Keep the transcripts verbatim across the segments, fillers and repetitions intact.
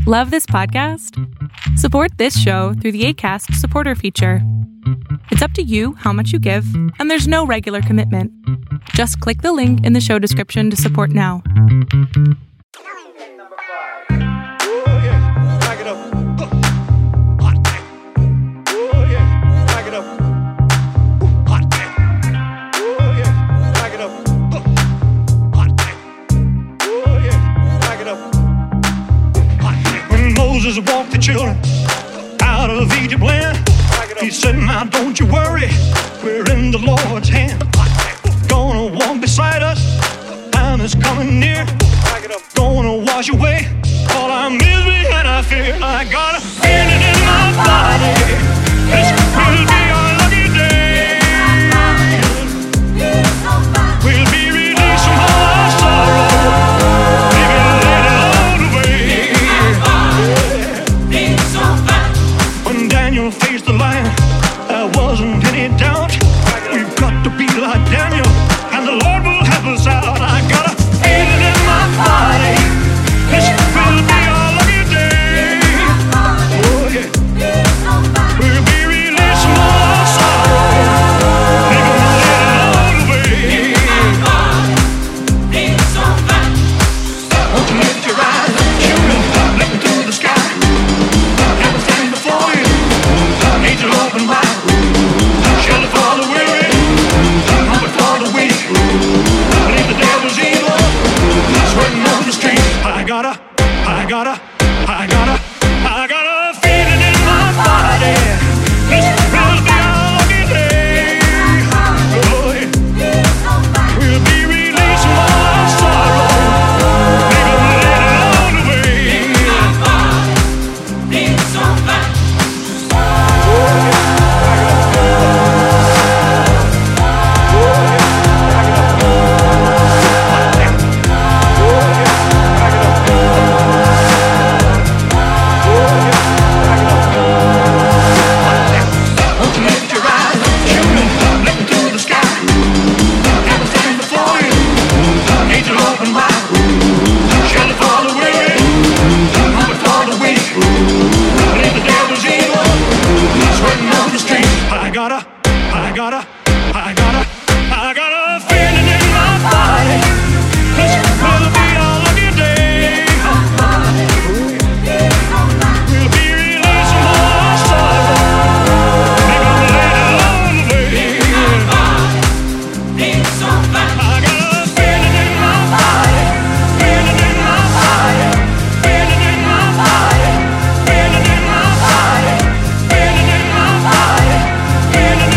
Love this podcast? Support this show through the Acast supporter feature. It's up to you how much you give, and there's no regular commitment. Just click the link in the show description to support now. Moses walked the children out of Egypt land. He said, now don't you worry, we're in the Lord's hand. Gonna walk beside us, time is coming near. Gonna wash away all our misery and our fear. I got a feeling in my body, this will be our lucky day. We'll be released from all our sorrow. Daniel faced the lion, there wasn't any doubt. We've got to be like Daniel, and the Lord will help us out. I got a feeling in my body, this will be our lucky day. Oh yeah, we'll be released from all our sorrow. They're gonna let it all away. Won't you lift your eyes, children, look into the sky. Everything before you, angel open wide, shelter for the weary, comfort for the weak. Believe the devil's evil, sweating on the street. I got a, I got a, I got a, I got a feeling in my body. This will be our lucky day. Oh yeah, we'll be released from all our sorrow. They're gonna let it all away. I got a, I got a, I got a, I got a feeling in my body. This will be our lucky day. We'll be released from all our sorrow. They're gonna let it all away. I got a feeling in my body, feeling in my body, feeling in my body, feeling in my body, feeling in my body. Feeling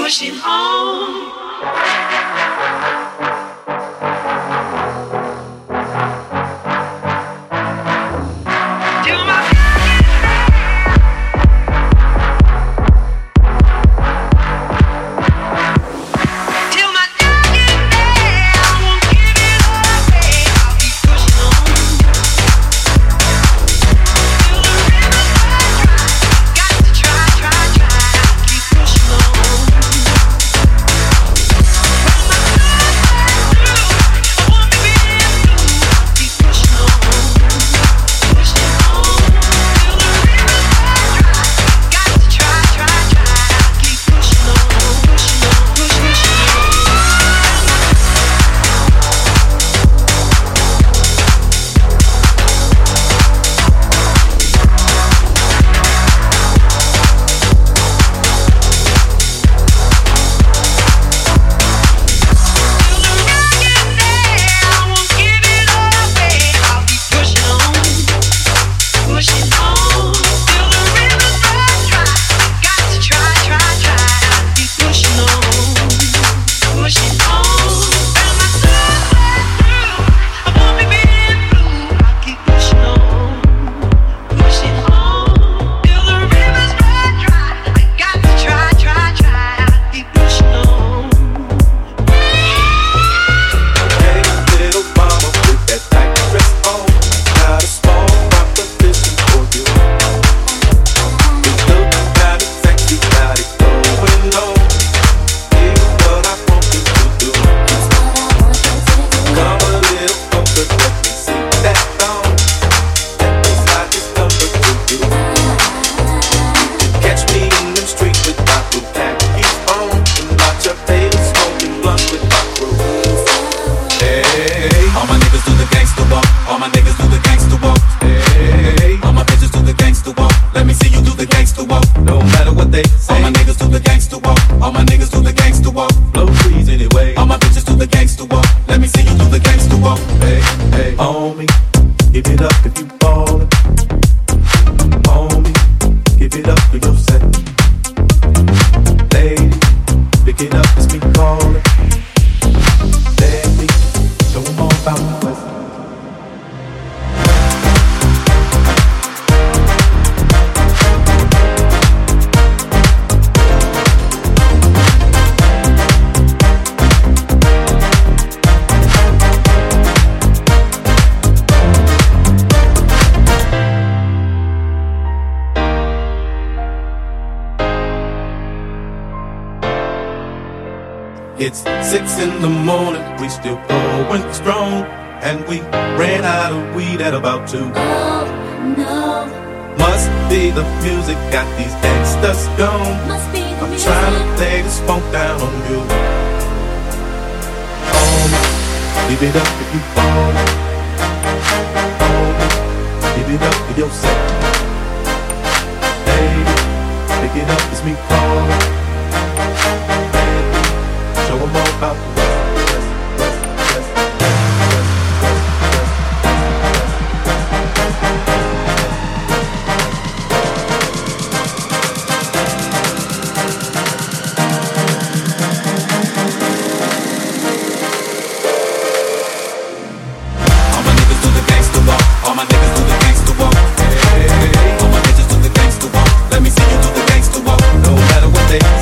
pushing on. It's six in the morning, we still going strong, and we ran out of weed at about two. Oh, no. Must be the music got these gangsters gone. Must be the I'm music. trying to lay this funk down on you. Homie, give it up if you want it. Homie, give it up for yourself. Baby, pick it up, it's me calling. Show 'em all about the West, West, West, West, All my niggas do the gangsta walk. All my niggas do the gangsta walk. Hey, all my bitches do the gangsta walk. Let me see you do the gangsta walk. no matter what they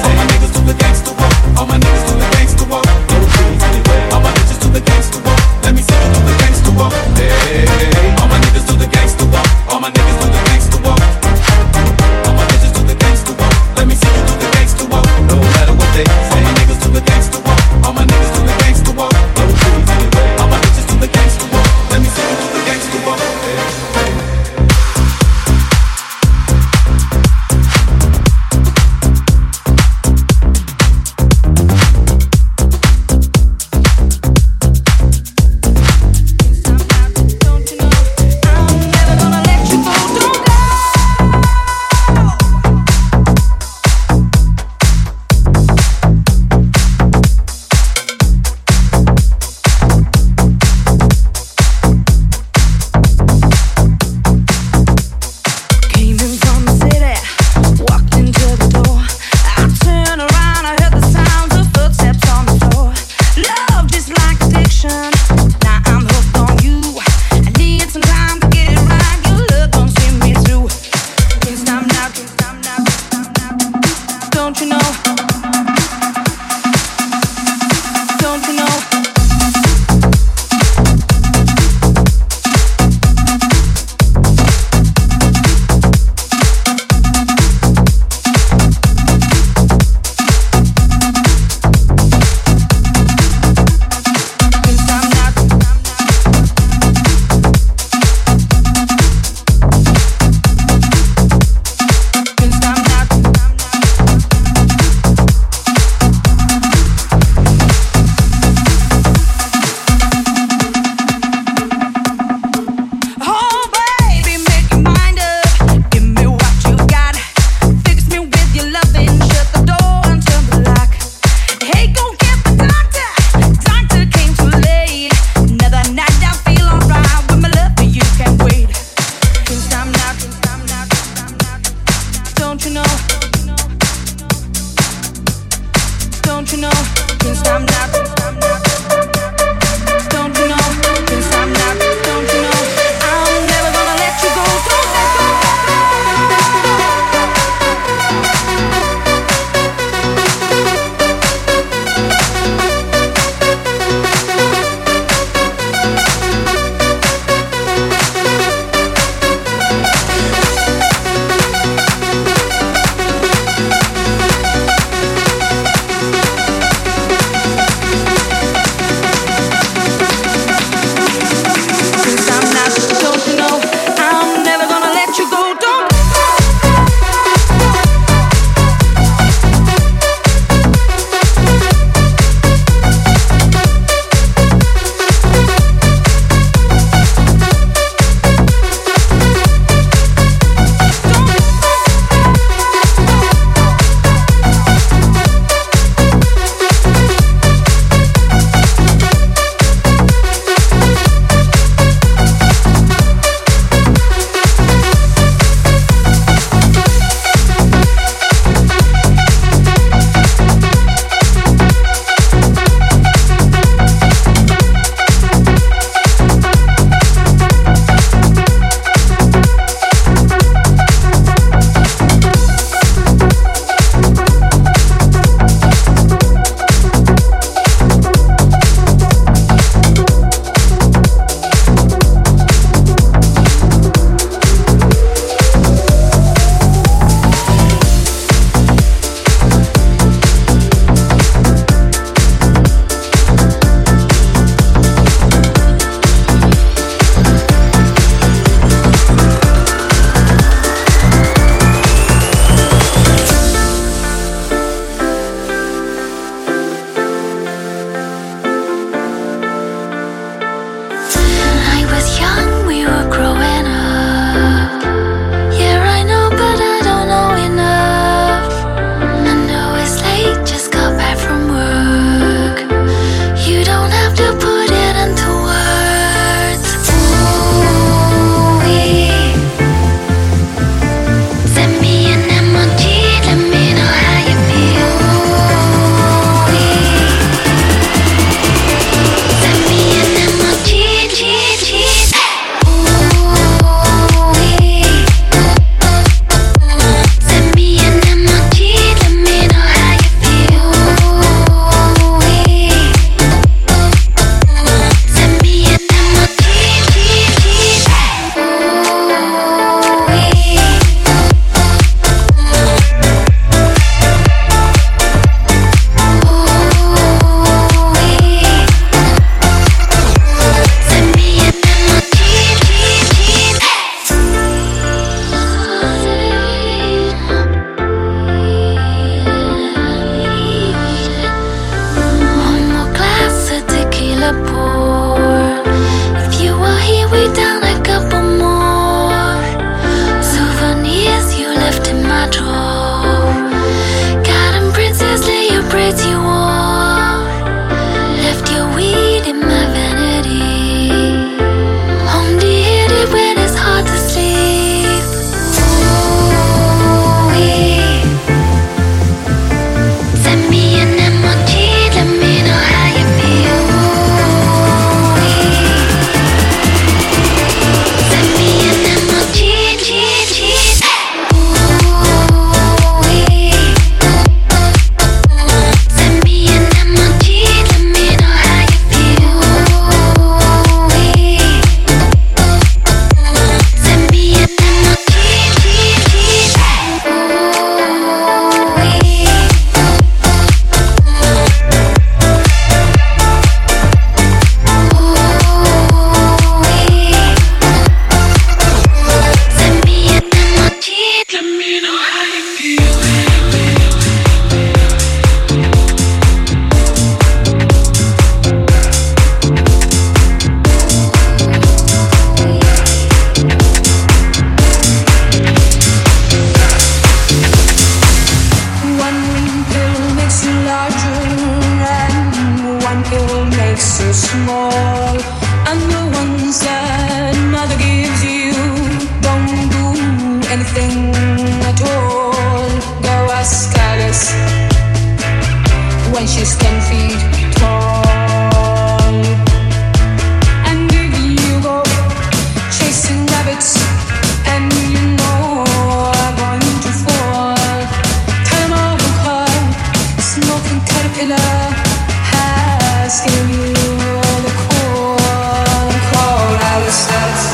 when she's ten feet tall. And if you go chasing rabbits and you know I'm going to fall, time out of car, smoking caterpillar has given you the call, the call out of sight.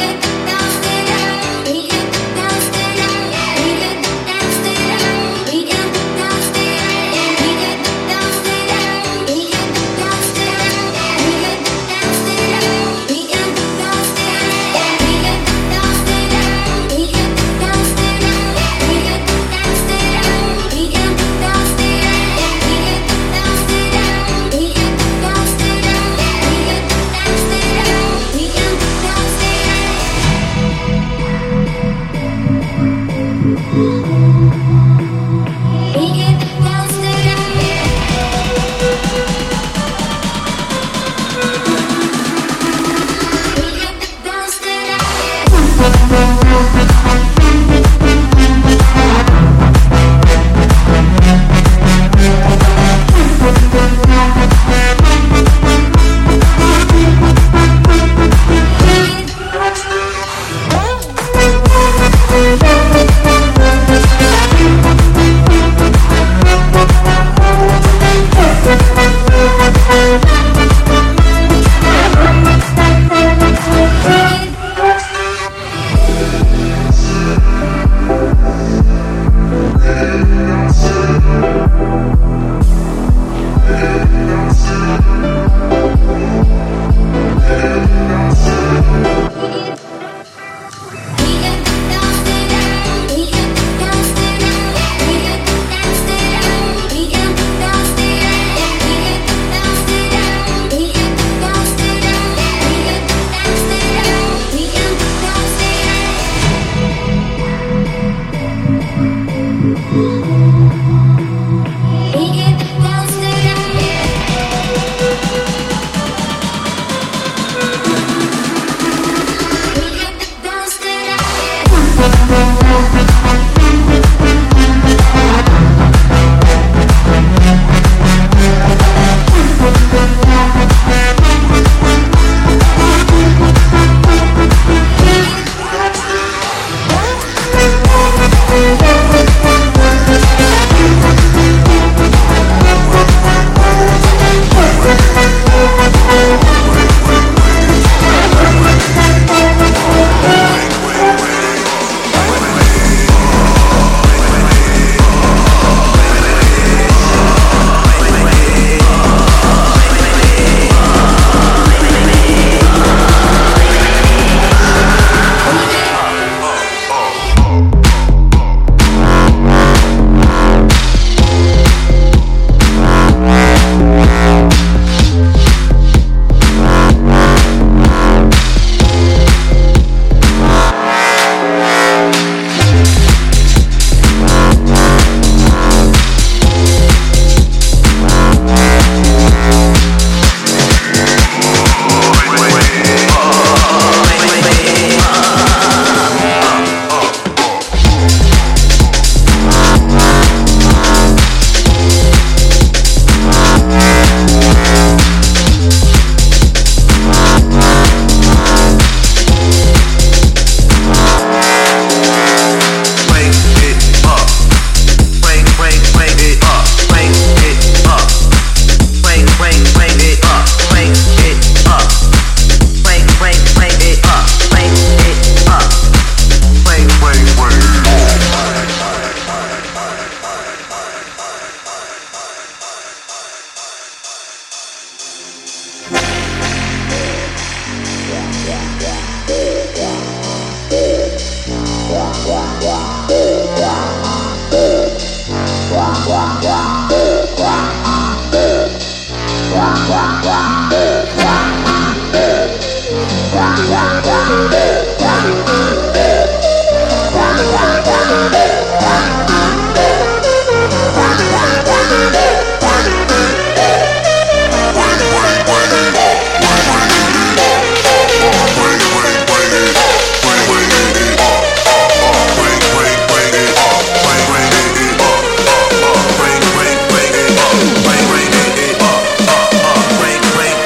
Bring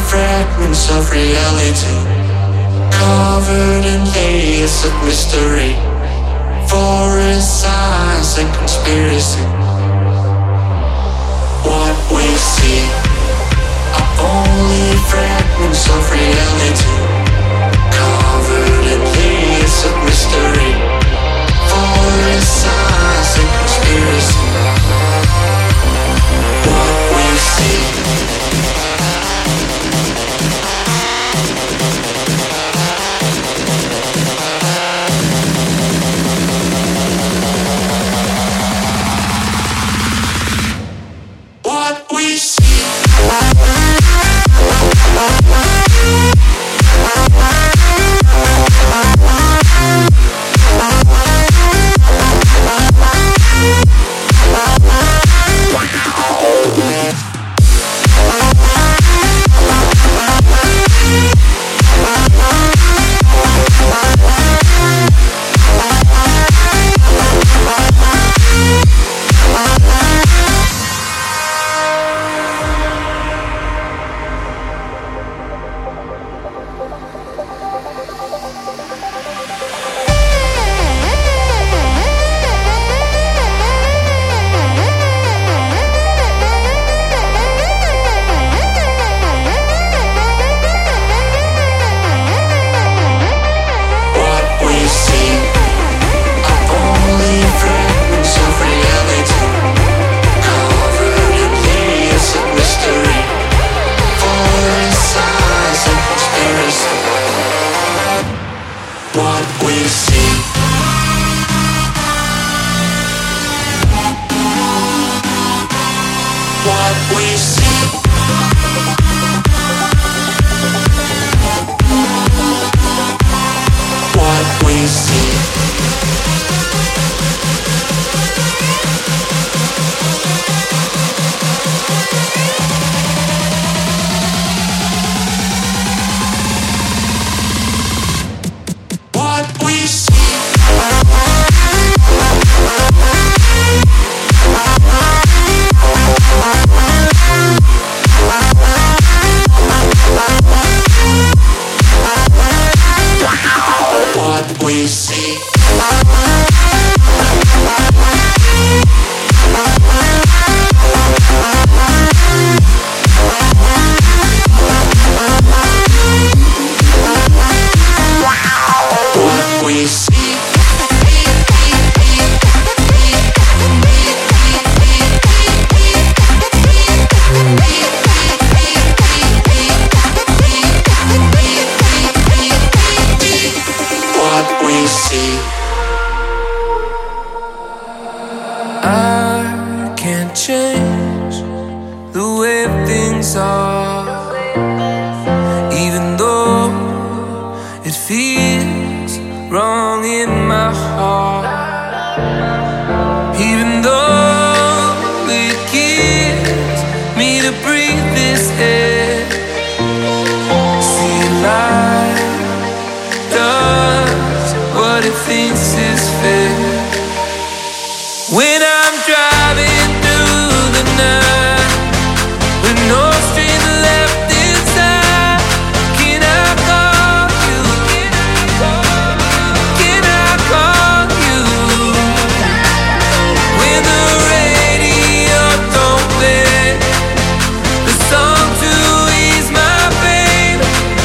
fragments of reality, covered in layers of mystery, forest science and conspiracy. What we see are only fragments of reality, covered in layers of mystery, forest science and conspiracy. What we see. What we see.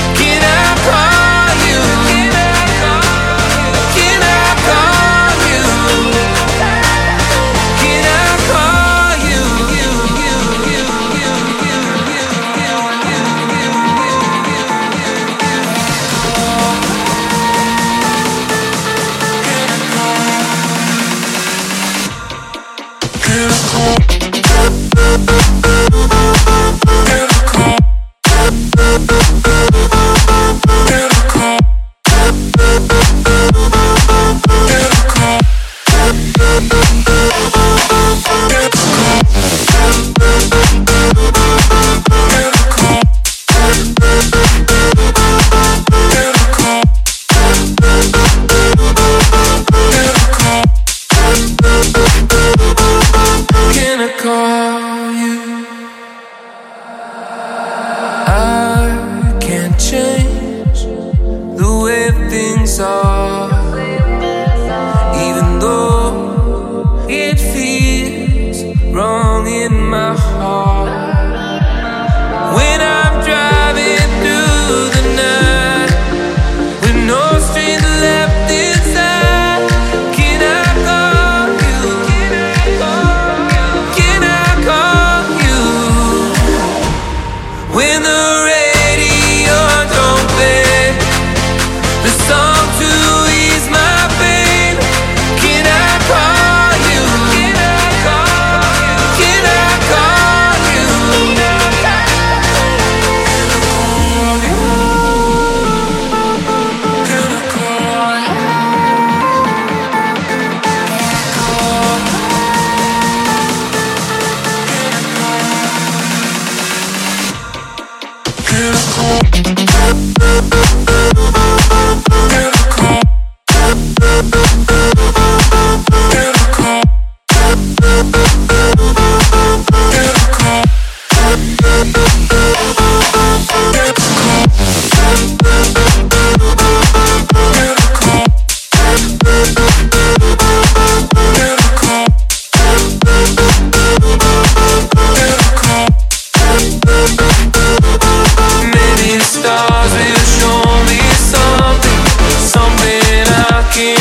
Can I call you?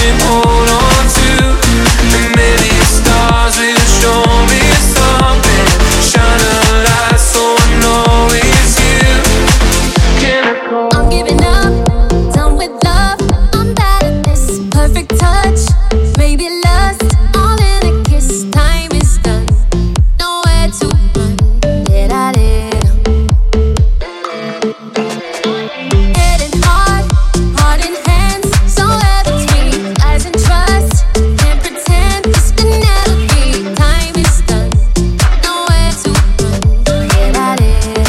can hold on to. And maybe the stars will show me something. Shine a light so I know it's you. Can I go? I'm giving up, done with love. I'm bad at this. Perfect touch, maybe lust. All in a kiss, time is done. Nowhere to run. Did I did? Head and heart, heart in hands. Somewhere between lies and trust. Can't pretend this could never be. Time is done. Nowhere to run. Did I did?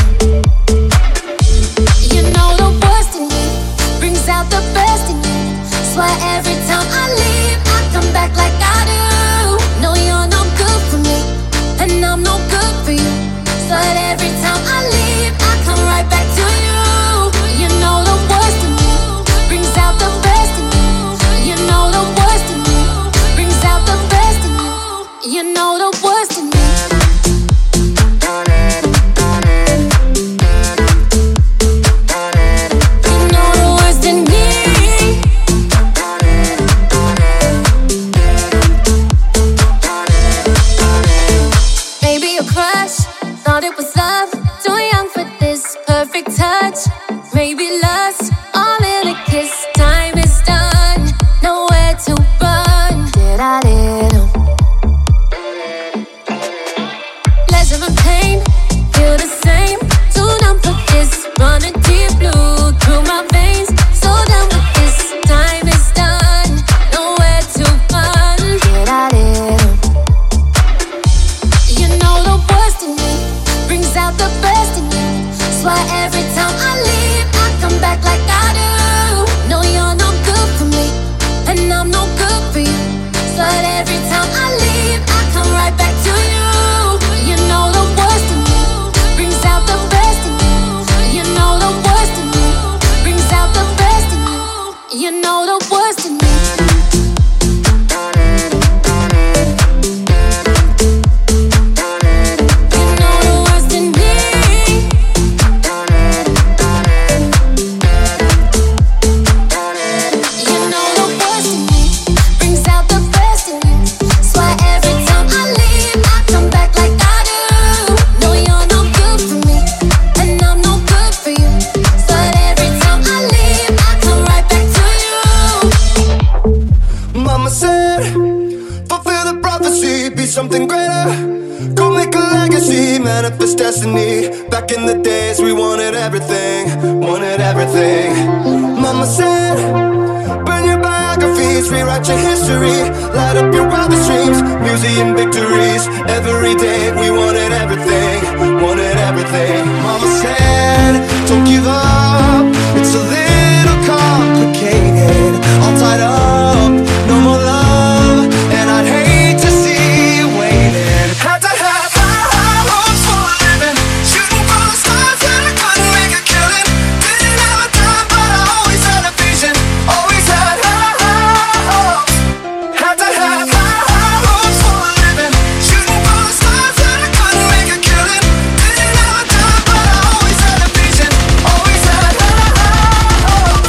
You know the worst in me brings out the best in you. Swear every time I leave, I come back like I do. No, you're no good for me, and I'm no good for you. Swear every time I leave, I come right back to you. You know the worst in me brings out the best in you. You know the worst in me brings out the best in you. You know the worst in me. You know the worst in me. Maybe a crush, thought it was love. Too young for this perfect touch. Maybe lust, all in a kiss. Time is done, nowhere to run. Did I did? Pleasure and pain, feel the same. Too numb for this, running deep blue through my veins. So done with this, time is done, nowhere to run. Did I did? You know the worst in me brings out the best in you. Swear every time I leave, I come back like I do. No, you're no good for me, and I'm no good for you. Swear every time I leave, I come right back to you. You know the worst in me brings out the best in you. You know the worst in me brings out the best in you. You know the worst in me. You know the worst in me. You know the worst in me brings out the best in you. Swear every time I leave, I come back like I do. No, you're no good for me, and I'm no good for you. Swear every time I leave, I come right back to you. Mama said, fulfill the prophecy, be something greater. Go make a legacy, manifest destiny. Back in the days we wanted everything, wanted everything. Mama said, burn your biographies, rewrite your history. Light up your wildest dreams, museum victories. Every day we wanted everything, wanted everything. Mama said, don't give up, it's a little complicated. All tied up, no more love, and I'd hate to see you waiting. Had to have high, high hopes for a living, shooting for the stars and I couldn't make a killing. Didn't have a time, but I always had a vision, always had high, high hopes. Had to have high, high hopes for a living, shooting for the stars and I couldn't make a killing. Didn't have a time, but I always had a vision, always had high, high hopes.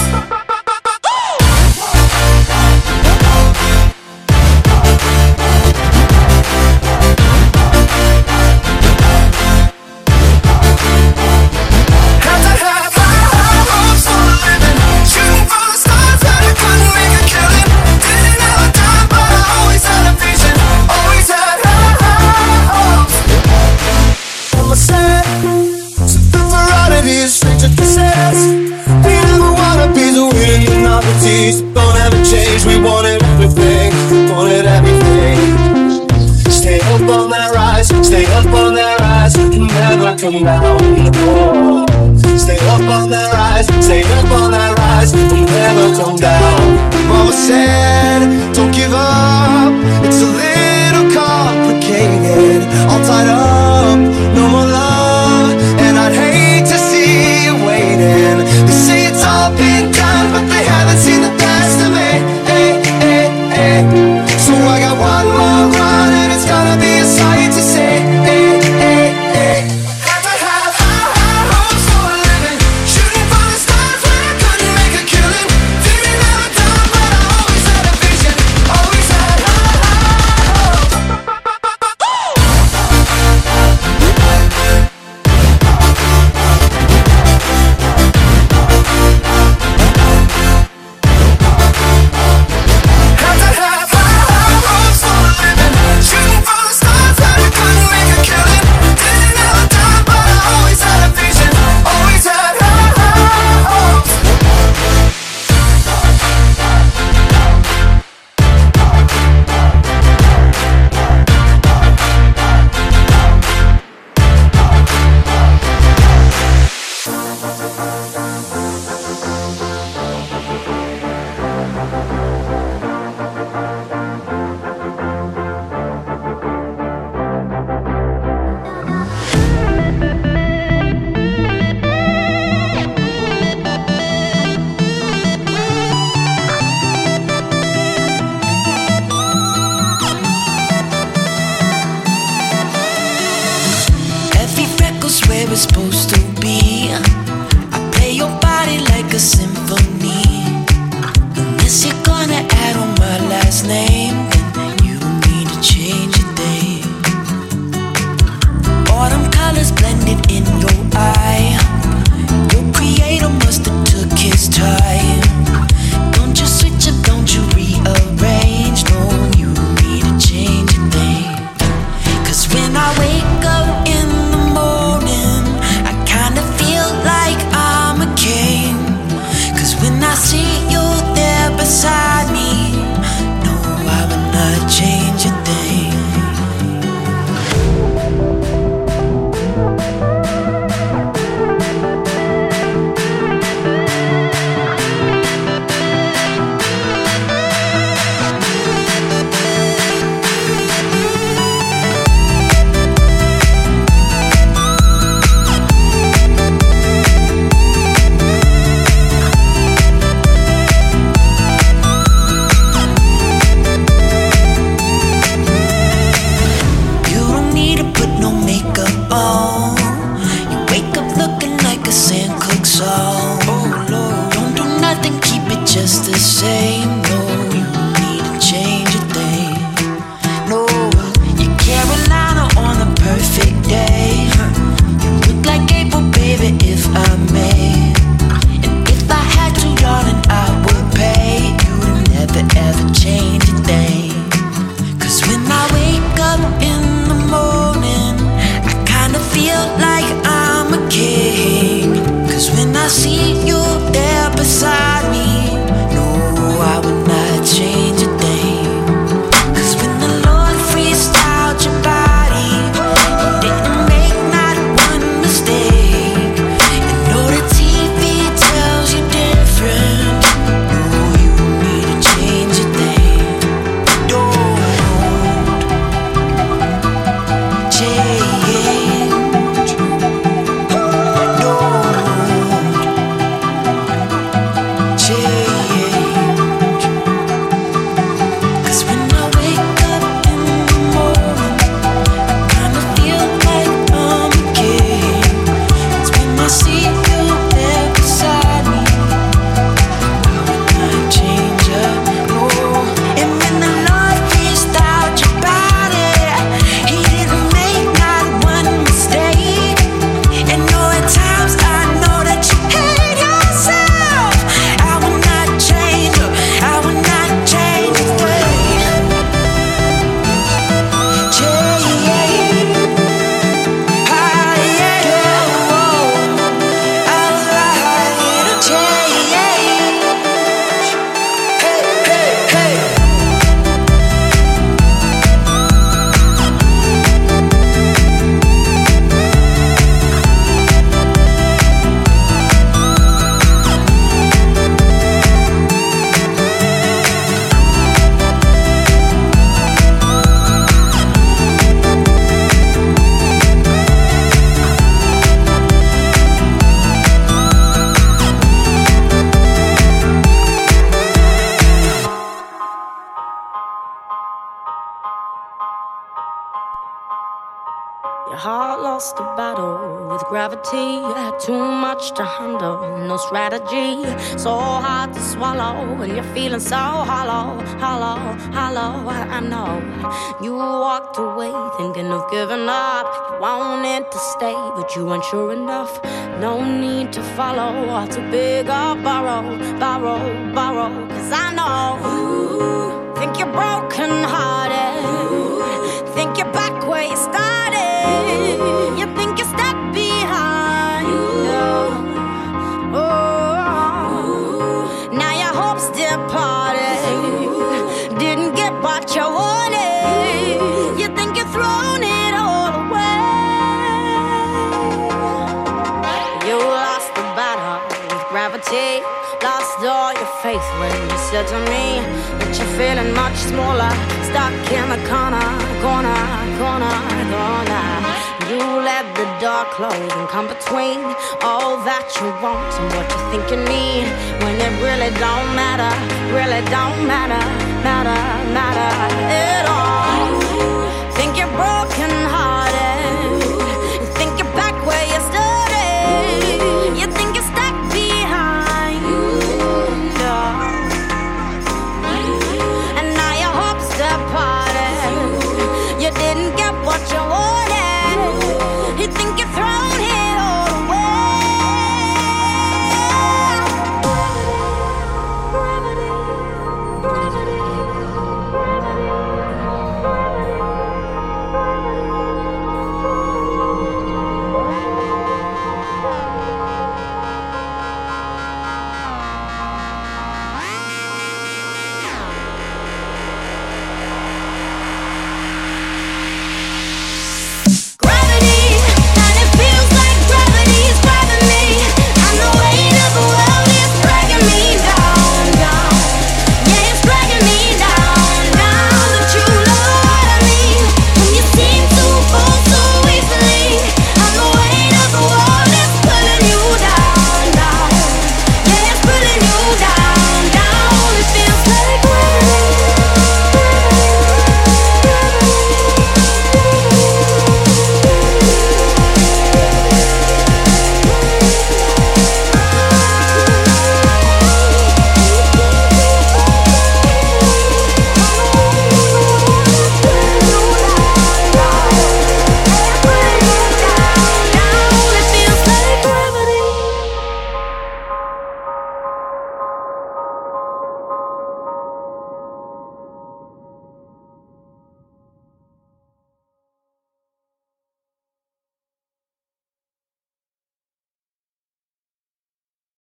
Had to have high, high hopes for a living, shooting for the stars and I couldn't make a killing. Didn't have a time, but I always had a vision, always had high, high hopes. Mama said, something for oddities, stranger cassettes. We never wanna be the winning the novelties. Don't ever change, we wanted everything, wanted everything. Stay up on that rise, stay up on that rise, and never come down. Oh. Stay up on that rise, stay up on that rise, and never come down. Mama said, don't give up, it's a little complicated. All tied up, no more love, and I'd hate to see you waiting. They say it's all been done, but they haven't seen the best of me. Hey, hey, hey. So I got one more run, and it's gonna be a sight to see. Hey, hey, hey. Had to have high, high hopes for a living, shooting for the stars when I couldn't make a killing. Didn't have a time, but I always had a vision. his name, then you don't need to change a thing. Autumn colors blended in your eye. Your creator must have took his time. Don't you switch up, don't you rearrange. No, you don't need to change a thing. Cause when I wake up in the morning, I kinda feel like I'm a king. Cause when I see you there beside me, no, I would not change a thing. Just the same, no, you don't need to change a thing. No, you're Carolina on a perfect day. You look like April, baby, if I may. And if I had to, darling, I would pay you to never ever change a thing. Cause when I wake up in the morning, I kinda feel like I'm a king. Cause when I see you there beside me, I would not change a thing. Cause when the Lord freestyled your body, He didn't make not one mistake. And no, the T V tells you different. No, you don't need to change a thing. Don't change. Don't change. Your heart lost a battle with gravity. You had too much to handle, no strategy. So hard to swallow when you're feeling so hollow, hollow, hollow. I know you walked away thinking of giving up. You wanted to stay, but you weren't sure enough. No need to follow or to big or borrow, borrow, borrow. Cause I know you think you're broken hearted, think you're back where you started. You think you're stuck behind. Oh, now your hopes departed. Didn't get what you wanted. You think you've thrown it all away. You lost the battle with gravity. Lost all your faith when you said to me that you're feeling much smaller, stuck in the corner, corner, corner, corner. You let the door close and come between all that you want and what you think you need, when it really don't matter, really don't matter, matter.